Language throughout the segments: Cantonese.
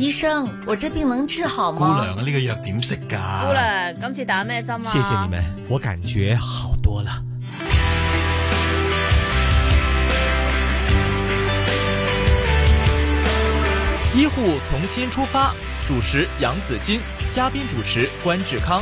醫生，我這病能治好嗎？ 姑娘，呢個藥點食㗎？ 姑娘，今次打咩針啊？ 謝謝你們，我感覺好多了。醫護從新出發，主持楊子矜，嘉賓主持關志康。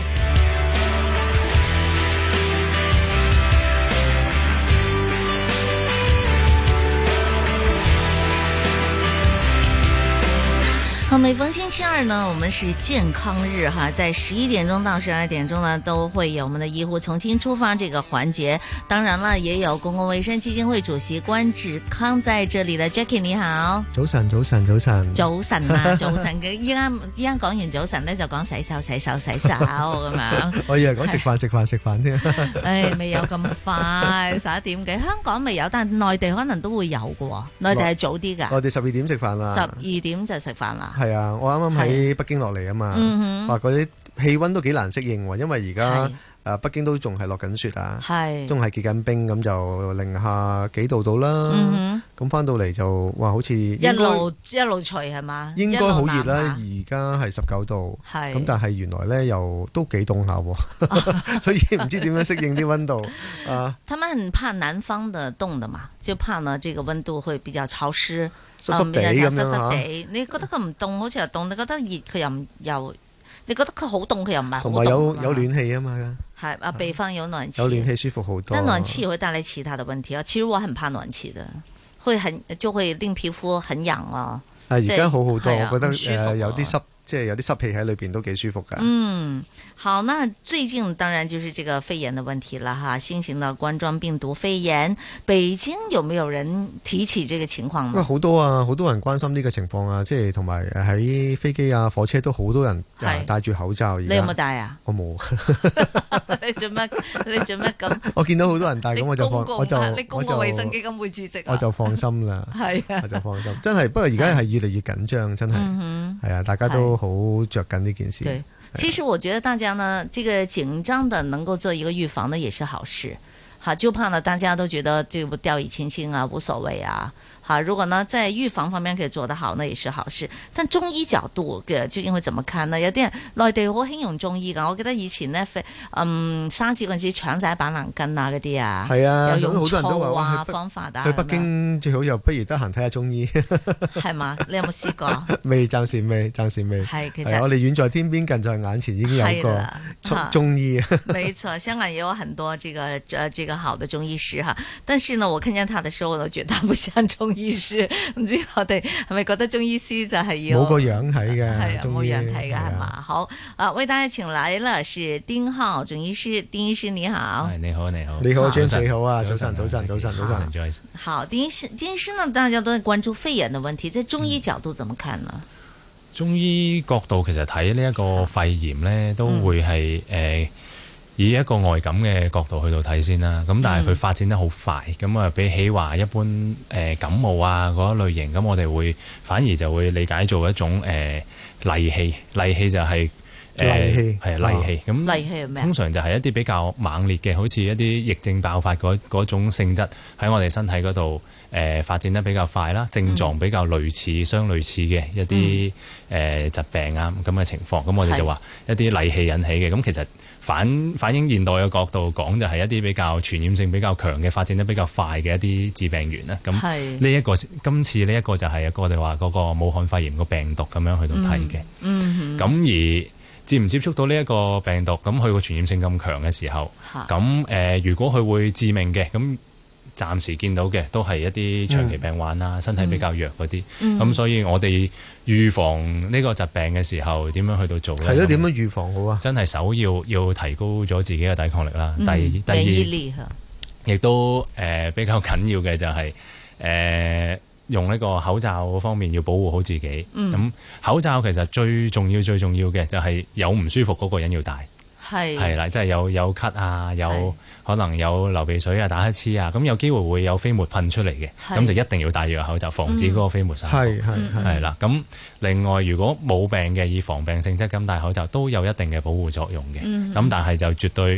好，每逢星期二呢，我們是健康日哈，在11點鐘到12點鐘呢，都會有我們的醫護從新出發這個環節。當然了，也有公共衛生基金會主席關志康在這裡的 Jackie 你好。 早晨，早晨，早晨。 早晨啊，早晨嘅，依家講完早晨咧，就講洗手咁樣。 我以為講食飯添。 誒，未有咁快，11點幾，香港未有，但係內地可能都會有嘅喎。內地係早啲㗎。 內地12點食飯啦。 12點就食飯啦。 係啊，我啱啱喺北京落嚟啊嘛，話嗰啲氣溫都幾難適應喎，因為而家北京都仲係落緊雪啊，仲係結緊冰，咁就零下幾度到啦。咁翻到嚟就話好似一路除係嘛？ 應該好熱啦，而家係19度，咁但係原來咧又都幾凍下，所以唔知點樣適應啲溫度啊。 他們很怕南方的凍的嘛，就怕呢這個溫度會比較潮濕。 濕濕地咁樣嚇， 你覺得佢唔凍，好似又凍；你覺得熱，佢又你覺得佢好凍，佢又唔係好凍。 同埋有暖氣啊嘛， 係啊，北方有暖氣， 有暖氣舒服好多。 但暖氣會帶來其他的問題啊。其實我很怕暖氣的，就會令皮膚很癢啊。 而家好好多，我覺得有啲濕。即係有啲濕氣喺裏邊都幾舒服噶。 好，那最近當然就是這個肺炎的問題了哈，新型的冠狀病毒肺炎，北京有沒有人提起這個情況呢？ 好多啊，好多人關心呢個情況啊，即係同埋喺飛機啊、火車都好多人戴住口罩。 你有冇戴啊？ 我冇。 你做乜咁？ 我見到好多人戴，咁我就你公共衛生基金會主席， 我就放心啦。 係啊， 我就放心。真係，不過而家係越嚟越緊張，真係。係啊，大家都好着緊呢件事。 對，其實我覺得大家呢，這個緊張的能夠做一個預防呢，也是好事。好，就怕呢大家都覺得這個掉以輕心啊，無所謂啊。好，如果呢在預防方面可以做得好，那也是好事。但中醫角度嘅究竟會怎麼看呢？有啲人內地好興用中醫噶，我記得以前呢，沙士嗰陣時搶晒板藍根啊嗰啲啊， 係啊， 有用醋好多人都話啊方法啊。 去北京最好又不如得閒睇下中醫， 係嘛？你有冇試過？ 未，暫時未。 係，其實我哋遠在天邊，近在眼前，已經有個中醫。 沒錯，香港也有很多這個好的中醫師哈，但是呢，我看見他的時候，我都覺得他不像中醫師。唔知我哋係咪覺得中醫師就係要冇個樣睇嘅？ 係啊，冇樣睇嘅係嘛？好啊，為大家請來了是丁浩中醫師，丁醫師你好。 你好。 你好，James你好啊，早晨。 好，丁醫師呢，大家都在關注肺炎的問題，在中醫角度怎麼看呢？ 中醫角度其實睇呢一個肺炎呢，都會係以一個外感嘅角度去到睇先啦，咁但係佢發展得好快，咁啊比起話一般感冒啊嗰一類型，咁我哋會反而就會理解做一種戾氣，戾氣就係戾氣，咁戾氣係咩？通常就係一啲比較猛烈嘅，好似一啲疫症爆發嗰種性質喺我哋身體嗰度發展得比較快啦，症狀比較相類似嘅一啲疾病啊咁嘅情況，咁我哋就話一啲戾氣引起嘅，咁其實反映現代嘅角度講，就係一啲比較傳染性比較強嘅、發展得比較快嘅一啲致病源啦。咁今次呢一個就係我哋話嗰個武漢肺炎個病毒咁樣去到睇嘅。咁而接唔接觸到呢一個病毒，咁佢個傳染性咁強嘅時候，咁如果佢會致命嘅，咁暫時見到嘅都係一啲長期病患啦，身體比較弱嗰啲。咁所以我哋預防呢個疾病嘅時候，點樣去到做咧？ 係咯，點樣預防好啊？ 真係首要提高咗自己嘅抵抗力啦。第二，亦都比較緊要嘅就係用呢個口罩方面要保護好自己。咁口罩其實最重要嘅就係有唔舒服嗰個人要戴。係啦，即係有咳啊，有可能有流鼻水啊、打乞嗤啊，咁有機會會有飛沫噴出嚟嘅，咁就一定要戴住個口罩，防止嗰個飛沫散播。係啦，咁另外如果冇病嘅，以防病性質咁戴口罩都有一定嘅保護作用嘅。咁但係就絕對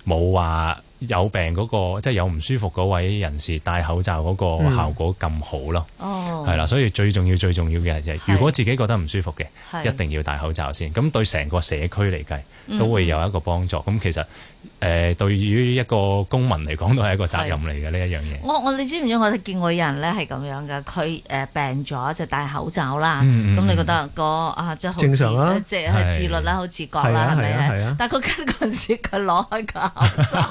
冇話有病嗰個即係有唔舒服嗰位人士戴口罩嗰個效果咁好咯。係啦，所以最重要嘅就係如果自己覺得唔舒服嘅，一定要戴口罩先。咁對成個社區嚟計都會有一個幫助。咁其實對於一個公民嚟講都係一個責任嚟嘅呢一樣嘢。 你知唔知我哋見過有人咧係咁樣嘅，佢病咗就戴口罩啦。咁你覺得即係好正常啦， 即係自律啦，好自覺啦，係咪啊？但係佢咳嗰陣時，佢攞開個口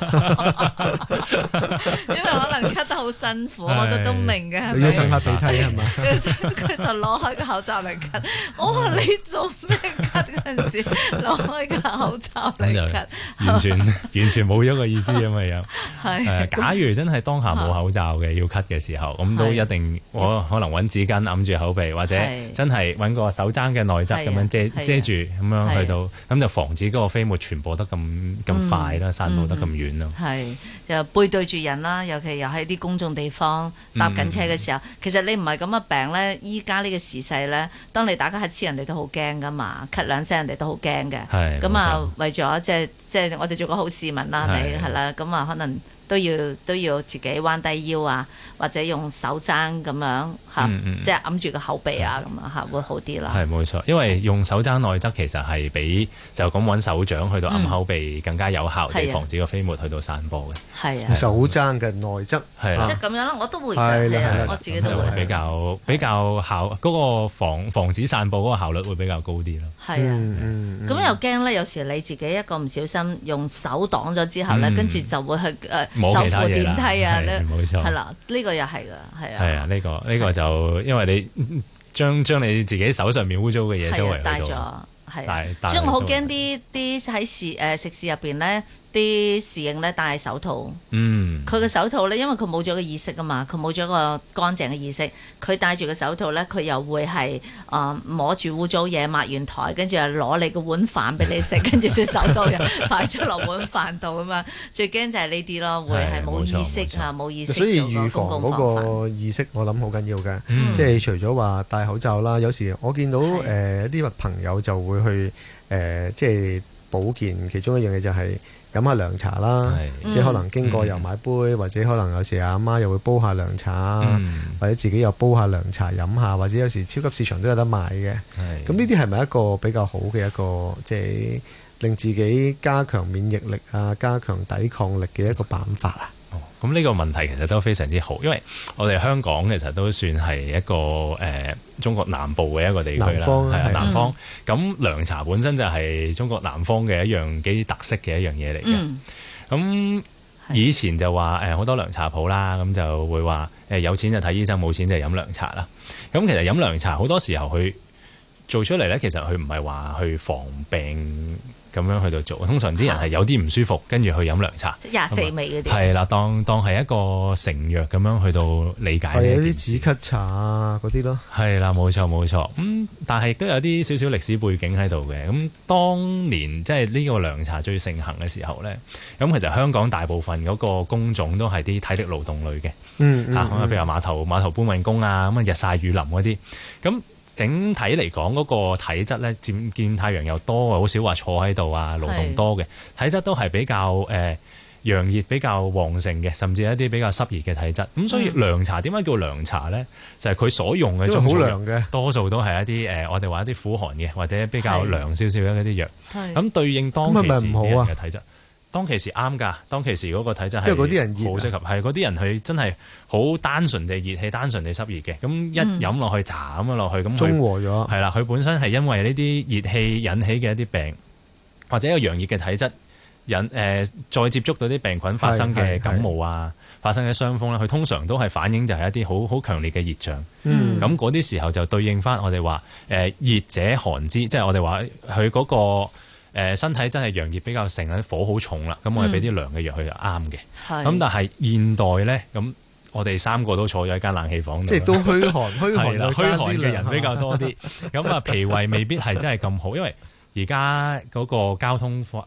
罩，因為可能咳得好辛苦，我都明嘅。係咪？ 要擤下鼻涕係嘛？ 佢就攞開個口罩嚟咳。我話你做咩咳嗰陣時攞開個口罩嚟咳？ 完全冇咗個意思咁嘅樣。假如真係當下冇口罩嘅要咳嘅時候，咁都一定我可能揾紙巾揞住口鼻，或者真係揾個手踭嘅內側咁樣遮住，咁樣去到咁就防止嗰個飛沫傳播得咁快啦，散佈得咁遠咯。 係又背對住人啦，尤其又喺啲公眾地方搭緊車嘅時候，其實你唔係咁嘅病咧，依家呢個時勢咧，當你打個乞嗤，人哋都好驚噶嘛，咳兩聲人哋都好驚嘅。咁啊，為咗即係我哋做個好市民啦，係咪？係啦，咁啊可能都要自己彎低腰啊，或者用手踭咁樣嚇，即係揞住個口鼻啊咁啊嚇，會好啲啦。係冇錯， 因為用手踭內側其實係比就咁揾手掌去到揞口鼻更加有效地防止個飛沫去到散播嘅。係啊， 手踭嘅內側係啊，即係咁樣啦，我都會嘅，我自己都會比較效嗰個防止散播嗰個效率會比較高啲咯。 係啊，咁又驚咧，有時你自己一個唔小心用手擋咗之後咧，跟住就會去手扶電梯啊， 冇錯， 係啦，呢個又係㗎，係啊， 係啊，呢個就因為你將你自己手上面污糟嘅嘢周圍帶咗，係，所以我好驚啲喺食肆入邊咧。啲侍應咧戴手套，佢個手套咧，因為佢冇咗個意識啊嘛，佢冇咗個乾淨嘅意識，佢戴住個手套咧，佢又會係摸住污糟嘢，抹完台，跟住又攞你個碗飯俾你食，跟住隻手套又擺咗落碗飯度啊嘛，最驚就係呢啲咯，會係冇意識啊，冇意識。 所以預防嗰個意識，我諗好緊要嘅，即係除咗話戴口罩啦，有時我見到一啲朋友就會去即係保健，其中一樣嘢就係飲下涼茶啦，即係可能經過又買杯，或者可能有時阿媽又會煲下涼茶，或者自己又煲下涼茶飲下，或者有時超級市場都有得賣嘅。咁呢啲係咪一個比較好嘅一個即係令自己加強免疫力啊、加強抵抗力嘅一個辦法啊？ 咁呢個問題其實都非常之好，因為我哋香港其實都算係一個中國南部嘅一個地區啦，係啊，南方。咁涼茶本身就係中國南方嘅一樣幾特色嘅一樣嘢嚟嘅。咁以前就話好多涼茶鋪啦，咁就會話有錢就睇醫生，冇錢就飲涼茶啦。咁其實飲涼茶好多時候佢做出嚟咧，其實佢唔係話去防病咁樣去到做，通常啲人係有啲唔舒服，跟住去飲涼茶， 即係24味嗰啲。 係啦，當係一個成藥咁樣去到理解。 係有啲止咳茶啊嗰啲咯。係啦，冇錯冇錯。但係都有啲少少歷史背景喺度嘅。咁當年即係呢個涼茶最盛行嘅時候咧，咁其實香港大部分嗰個工種都係啲體力勞動類嘅。譬如話碼頭搬運工啊，咁啊日曬雨淋嗰啲，咁。整體嚟講，嗰個體質咧，見太陽又多，好少話坐喺度啊，勞動多嘅體質都係比較陽熱比較旺盛嘅，甚至一啲比較濕熱嘅體質。咁所以涼茶點解叫涼茶咧？就係佢所用嘅中藥多數都係一啲我哋話一啲苦寒嘅，或者比較涼少少嘅一啲藥。咁對應當其時啲人嘅體質。當其時啱㗎，當其時嗰個體質係因為嗰啲人好適合，係嗰啲人佢真係好單純地熱氣、單純地濕熱嘅，咁一飲落去茶咁樣落去，咁中和咗。係啦，佢本身係因為呢啲熱氣引起嘅一啲病，或者一個陽熱嘅體質再接觸到啲病菌發生嘅感冒啊，發生嘅傷風咧，佢通常都係反映就係一啲好強烈嘅熱象。咁嗰啲時候就對應翻我哋話熱者寒之，即係我哋話佢嗰個。身體真係陽熱比較盛，啲火好重啦，咁我哋俾啲涼嘅藥佢就啱嘅。咁但係現代咧，咁我哋三個都坐咗喺間冷氣房度， 即係都虛寒嘅人比較多啲。咁脾胃未必係真係咁好，因為而家嗰個交通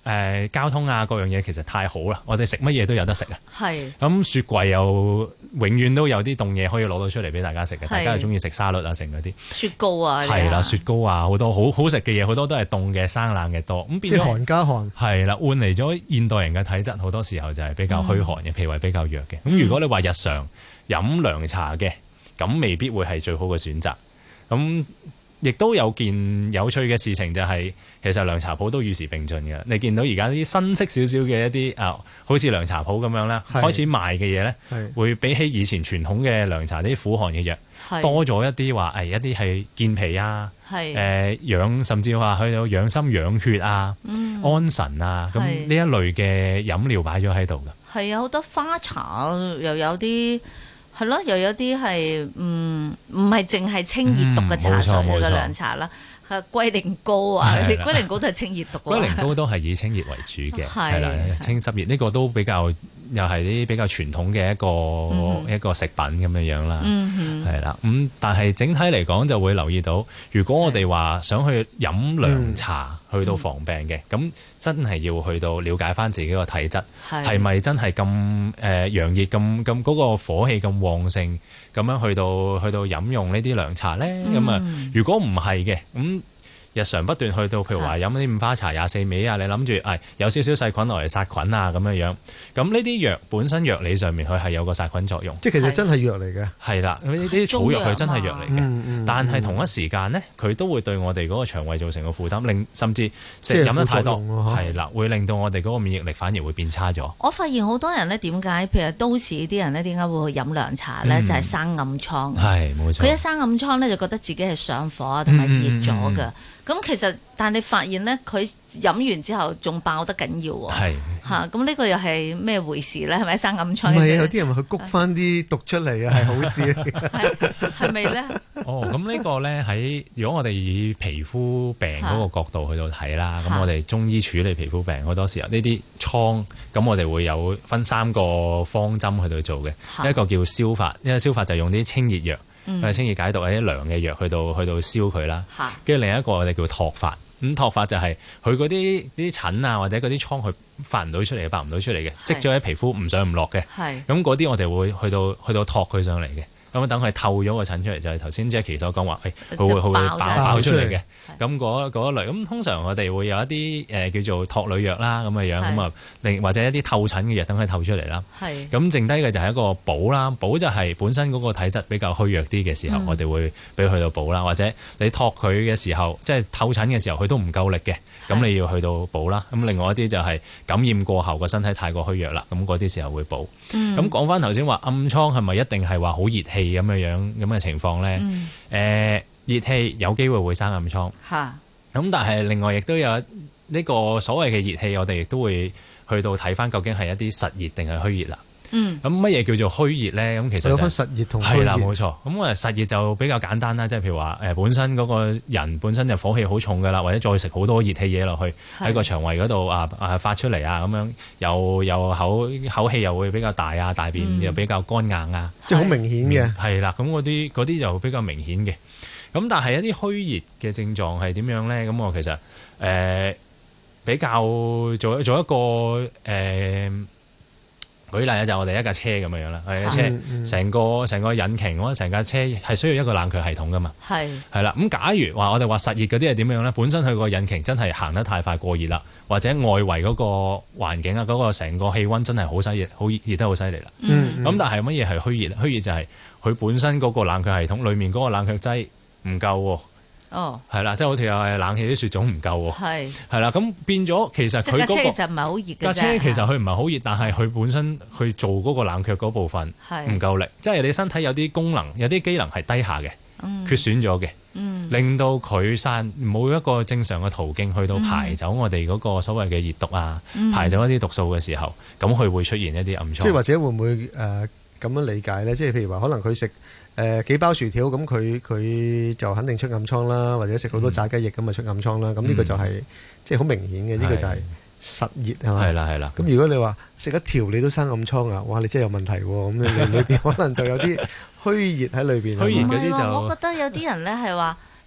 交通啊各樣嘢其實太好啦，我哋食乜嘢都有得食啊。 係。 咁雪櫃又永遠都有啲凍嘢可以攞到出嚟俾大家食嘅，大家又中意食沙律啊成嗰啲。 雪糕啊。 係啦，雪糕啊好多好好食嘅嘢，好多都係凍嘅生冷嘅多。咁變咗即係寒加寒。係啦，換嚟咗現代人嘅體質好多時候就係比較虛寒嘅，脾胃比較弱嘅。咁如果你話日常飲涼茶嘅，咁未必會係最好嘅選擇。咁亦都有件有趣嘅事情就係，其實涼茶鋪都與時並進嘅。你見到而家啲新式少少嘅一啲好似涼茶鋪咁樣啦，開始賣嘅嘢咧，會比起以前傳統嘅涼茶啲苦寒嘅藥，多咗一啲話一啲係健脾啊，養甚至話去到養心養血啊、安神啊，咁呢一類嘅飲料擺咗喺度嘅。 係啊，好多花茶又有啲。係咯，又有啲係唔係淨係清熱毒嘅茶水嘅涼茶啦，係龜苓膏啊，龜苓膏都係清熱毒。 龜苓膏都係以清熱為主嘅，係啦，清濕熱呢個都比較又係啲比較傳統嘅一個食品咁樣樣啦，係啦。咁但係整體嚟講就會留意到，如果我哋話想去飲涼茶去到防病嘅，咁真係要去到了解翻自己個體質係咪真係咁陽熱咁嗰個火氣咁旺盛，咁樣去到飲用呢啲涼茶咧？咁啊，如果唔係嘅咁。日常不斷去到，譬如話飲啲五花茶、24味啊，你諗住有少少細菌落嚟殺菌啊咁樣樣，咁呢啲藥本身藥理上面佢係有個殺菌作用， 即係其實真係藥嚟嘅。係啦，呢啲草藥佢真係藥嚟嘅，但係同一時間呢，佢都會對我哋嗰個腸胃造成個負擔，令甚至飲得太多，係啦，會令到我哋嗰個免疫力反而會變差咗。 我發現好多人呢，點解譬如都市啲人呢，點解會去飲涼茶呢？就係生暗瘡。 係冇錯。 佢一生暗瘡呢，就覺得自己係上火同埋熱咗㗎。咁其實，但你發現咧，佢飲完之後仲爆得緊要喎。係嚇，咁呢個又係咩回事咧？係咪生暗瘡？ 唔係，有啲人去谷翻啲毒出嚟啊，係好事。 係咪咧？ 咁呢個咧喺如果我哋以皮膚病嗰個角度去到睇啦，咁我哋中醫處理皮膚病好多時候呢啲瘡，咁我哋會有分3個方針去到做嘅，一個叫消發，因為消發就用啲清熱藥。清熱解毒啲涼嘅藥去到燒佢啦，跟住另一個我哋叫托發，咁托發就係佢嗰啲疹啊或者嗰啲瘡佢發唔到出嚟，發唔到出嚟嘅，積咗喺皮膚唔上唔落嘅，咁嗰啲我哋會去到托佢上嚟嘅。咁等佢透咗個疹出嚟，就係頭先 Jackie 所講話，佢會爆出嚟嘅。咁嗰一類，咁通常我哋會有一啲叫做托女藥啦，咁嘅樣，咁啊，或者一啲透疹嘅藥等佢透出嚟啦。咁剩低嘅就係一個補啦，補就係本身嗰個體質比較虛弱啲嘅時候，我哋會俾佢去到補啦。或者你托佢嘅時候，即係透疹嘅時候，佢都唔夠力嘅，咁你要去到補啦。咁另外一啲就係感染過後個身體太過虛弱啦，咁嗰啲時候會補。咁講翻頭先話暗瘡係咪一定係話好熱氣咁嘅情況咧？熱氣有機會會生暗瘡，咁但係另外亦都有呢個所謂嘅熱氣，我哋亦都會去到睇翻究竟係一啲實熱定係虛熱啦。咁乜嘢叫做虛熱咧？咁其實有分實熱同虛熱。 係啦，冇錯。咁實熱就比較簡單啦，即係譬如話本身嗰個人本身就火氣好重噶啦，或者再食好多熱氣嘢落去喺個腸胃嗰度發出嚟啊，咁樣又口氣又會比較大啊，大便又比較乾硬啊， 即係好明顯嘅。 係啦，咁嗰啲就比較明顯嘅。咁但係一啲虛熱嘅症狀係點樣咧？咁我其實比較做一個舉例咧，就我哋一架車咁樣啦，係架車成個引擎，我成架車係需要一個冷卻系統噶嘛。係啦，咁假如話我哋話實熱嗰啲係點樣咧？本身佢個引擎真係行得太快過熱啦，或者外圍嗰個環境啊，嗰個成個氣溫真係好犀熱，好熱得好犀利啦。咁但係乜嘢係虛熱？虛熱就係佢本身嗰個冷卻系統裡面嗰個冷卻劑唔夠喎。係啦，即係好似有冷氣啲雪種唔夠喎，係啦，咁變咗其實佢嗰個其實唔係好熱嘅啫。 架車其實佢唔係好熱，但係佢本身去做嗰個冷卻嗰部分唔夠力，即係你身體有啲功能、有啲機能係低下嘅，缺損咗嘅，令到佢冇一個正常嘅途徑去到排走我哋嗰個所謂嘅熱毒啊，排走一啲毒素嘅時候，咁佢會出現一啲暗瘡。 即係或者會唔會咁樣理解咧？即係譬如話，可能佢食幾包薯條，咁佢就肯定出暗瘡啦，或者食好多炸雞翼咁啊出暗瘡啦。咁呢個就係即係好明顯嘅，呢個就係實熱係嘛？ 係啦。 咁如果你話食一條你都生暗瘡啊，哇！你真係有問題喎。咁你裏邊可能就有啲虛熱喺裏邊。 虛熱嗰啲就我覺得有啲人咧係話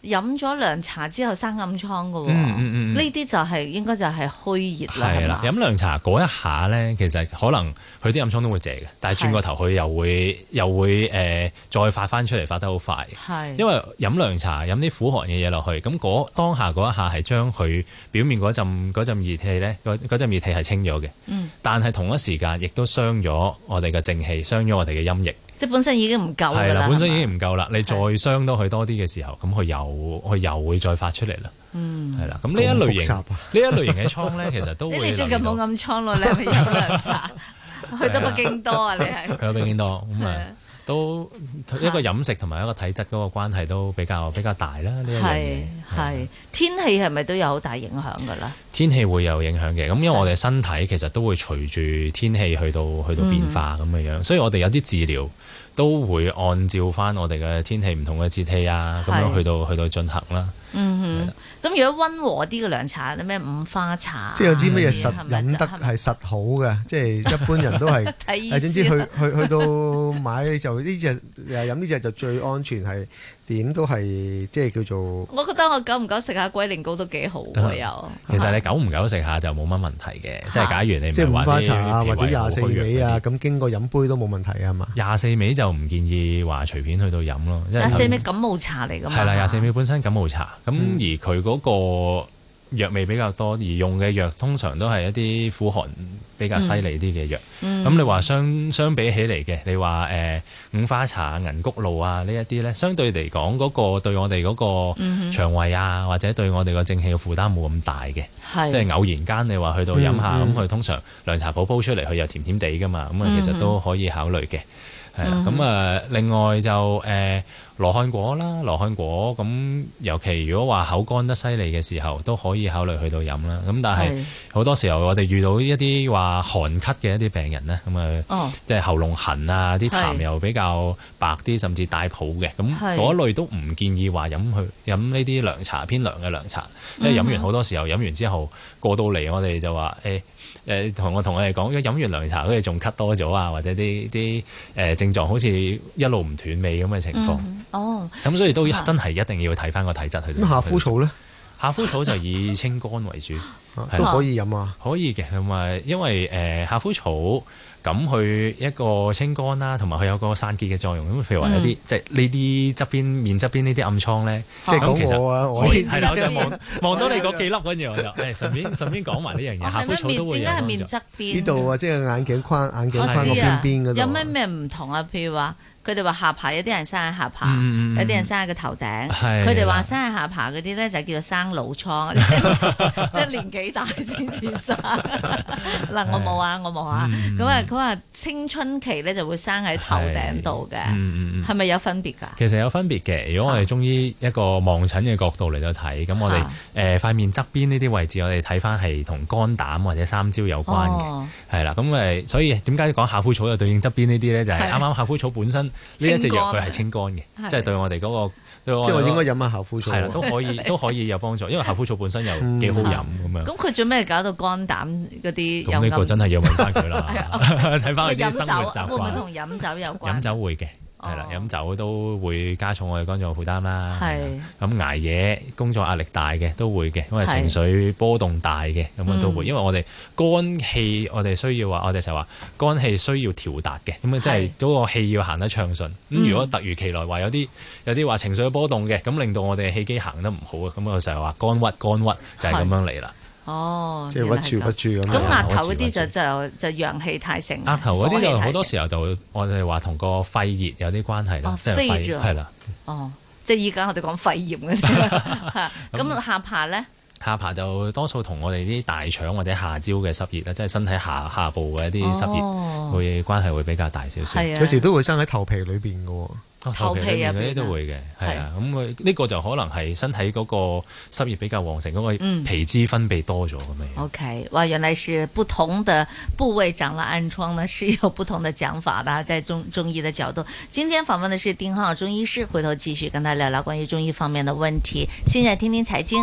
飲咗涼茶之後生暗瘡㗎喎，呢啲就係應該就係虛熱啦。係啦， 飲涼茶嗰一下咧，其實可能佢啲暗瘡都會謝嘅，但係轉個頭佢又會再發翻出嚟，發得好快。係，因為飲涼茶飲啲苦寒嘅嘢落去，咁當下嗰一下係將佢表面嗰陣熱氣咧，嗰陣熱氣係清咗嘅。但係同一時間亦都傷咗我哋嘅正氣，傷咗我哋嘅陰液。即係本身已經唔夠㗎啦，本身已經唔夠啦。你再傷到佢多啲嘅時候，咁佢又會再發出嚟啦。係啦。咁呢一類型嘅瘡咧，其實都會。你最近冇暗瘡咯？你係咪飲涼茶？去到北京多啊？你係去到北京多咁啊？都一個飲食同埋一個體質嗰個關係都比較大啦。呢一樣嘢係天氣係咪都有好大影響㗎啦？天氣會有影響嘅。咁因為我哋身體其實都會隨住天氣去到變化咁嘅樣，所以我哋有啲治療都會按照翻我哋嘅天氣唔同嘅節氣啊，咁樣去到進行啦。 咁如果溫和啲嘅涼茶，咩五花茶， 即係有啲乜嘢實飲得係實好嘅，即係一般人都係總之去到買就呢隻飲呢隻就最安全，係點都係即係叫做。我覺得我久唔久食下龜苓膏都幾好喎又。其實你久唔久食下就冇乜問題嘅，即係假如你即係五花茶啊或者24味啊，咁經過飲杯都冇問題啊嘛。 24味就唔建議話隨便去到飲咯。 24味感冒茶嚟㗎嘛。 係啦，24味本身感冒茶，咁而佢嗰個藥味比較多，而用嘅藥通常都係一啲苦寒比較犀利啲嘅藥。咁你話相比起嚟嘅，你話五花茶、銀菊露啊呢一啲咧，相對嚟講嗰個對我哋嗰個腸胃啊，或者對我哋個正氣嘅負擔冇咁大嘅。即係偶然間你話去到飲下，咁佢通常涼茶鋪煲出嚟，佢又甜甜地噶嘛，咁啊其實都可以考慮嘅。係啦，咁啊另外就羅漢果啦，羅漢果咁，尤其如果話口乾得犀利嘅時候，都可以考慮去到飲啦。咁但係好多時候我哋遇到一啲話寒咳嘅一啲病人咧，咁啊，即係喉嚨痕啊，啲痰又比較白啲，甚至帶泡嘅，咁嗰類都唔建議話飲呢啲涼茶，偏涼嘅涼茶，因為飲完好多時候飲完之後過到嚟，我哋就話同我哋講，如果飲完涼茶好似仲咳多咗啊，或者啲症狀好似一路唔斷尾咁嘅情況。咁所以都真係一定要睇翻個體質去。 咁夏枯草咧？ 夏枯草就以清肝為主， 都可以飲啊。 可以嘅，咁啊，因為夏枯草咁佢一個清肝啦，同埋佢有個散結嘅作用。咁譬如話有啲即係呢啲面側邊呢啲暗瘡咧， 即係講我啊，我係啦，我就望到你嗰幾粒，跟住我就順便講埋呢樣嘢。夏枯草都會有。點解係面側邊？ 呢度啊，即係眼鏡框個邊邊嗰度。 有咩唔同啊？譬如話。佢哋話下巴有啲人生喺下巴，有啲人生喺個頭頂。佢哋話生喺下巴嗰啲咧就叫做生老瘡，即係年紀大先至生。嗱，我冇啊，咁啊，佢話青春期咧就會生喺頭頂度嘅，係咪有分別㗎？ 其實有分別嘅。如果我哋中醫一個望診嘅角度嚟到睇，咁我哋塊面側邊呢啲位置，我哋睇翻係同肝膽或者三焦有關嘅，係啦。咁所以點解講夏枯草就對應側邊呢啲咧？就係啱啱夏枯草本身。呢一隻藥佢係清肝嘅，即係對我哋嗰個，即係我應該飲下夏枯草，係啦，都可以有幫助，因為夏枯草本身又幾好飲咁樣。咁佢做咩搞到肝膽嗰啲？ 咁呢個真係要問翻佢啦，睇翻佢啲生活習慣。 會唔會同飲酒有關？ 飲酒會嘅。係啦，飲酒都會加重我哋肝臟負擔啦。係咁捱夜、工作壓力大嘅都會嘅，因為情緒波動大嘅咁樣都會。因為我哋肝氣，我哋需要話，我哋成日話肝氣需要調達嘅，咁啊即係嗰個氣要行得暢順。咁如果突如其來話有啲話情緒波動嘅，咁令到我哋氣機行得唔好啊，咁我成日話肝鬱就係咁樣嚟啦。 哦， 即係屈住咁。 咁額頭嗰啲就陽氣太盛。 額頭嗰啲就好多時候就我哋話同個肺熱有啲關係啦，即係肺係啦。 哦，即係依家我哋講肺炎嗰啲。咁下巴咧？ 下巴就多數同我哋啲大腸或者下焦嘅濕熱啦，即係身體下部嘅一啲濕熱會關係會比較大少少。 有時都會生喺頭皮裏邊嘅喎。 頭皮入邊嗰啲都會嘅，係啊，咁佢呢個就可能係身體嗰個濕熱比較旺盛，嗰個皮脂分泌多咗咁樣。 OK， 哇，原來是不同的部位長了暗瘡呢，是有不同的講法的，在中醫的角度。今天訪問的是丁浩中醫師，回頭繼續跟他聊聊關於中醫方面的問題。現在聽聽財經。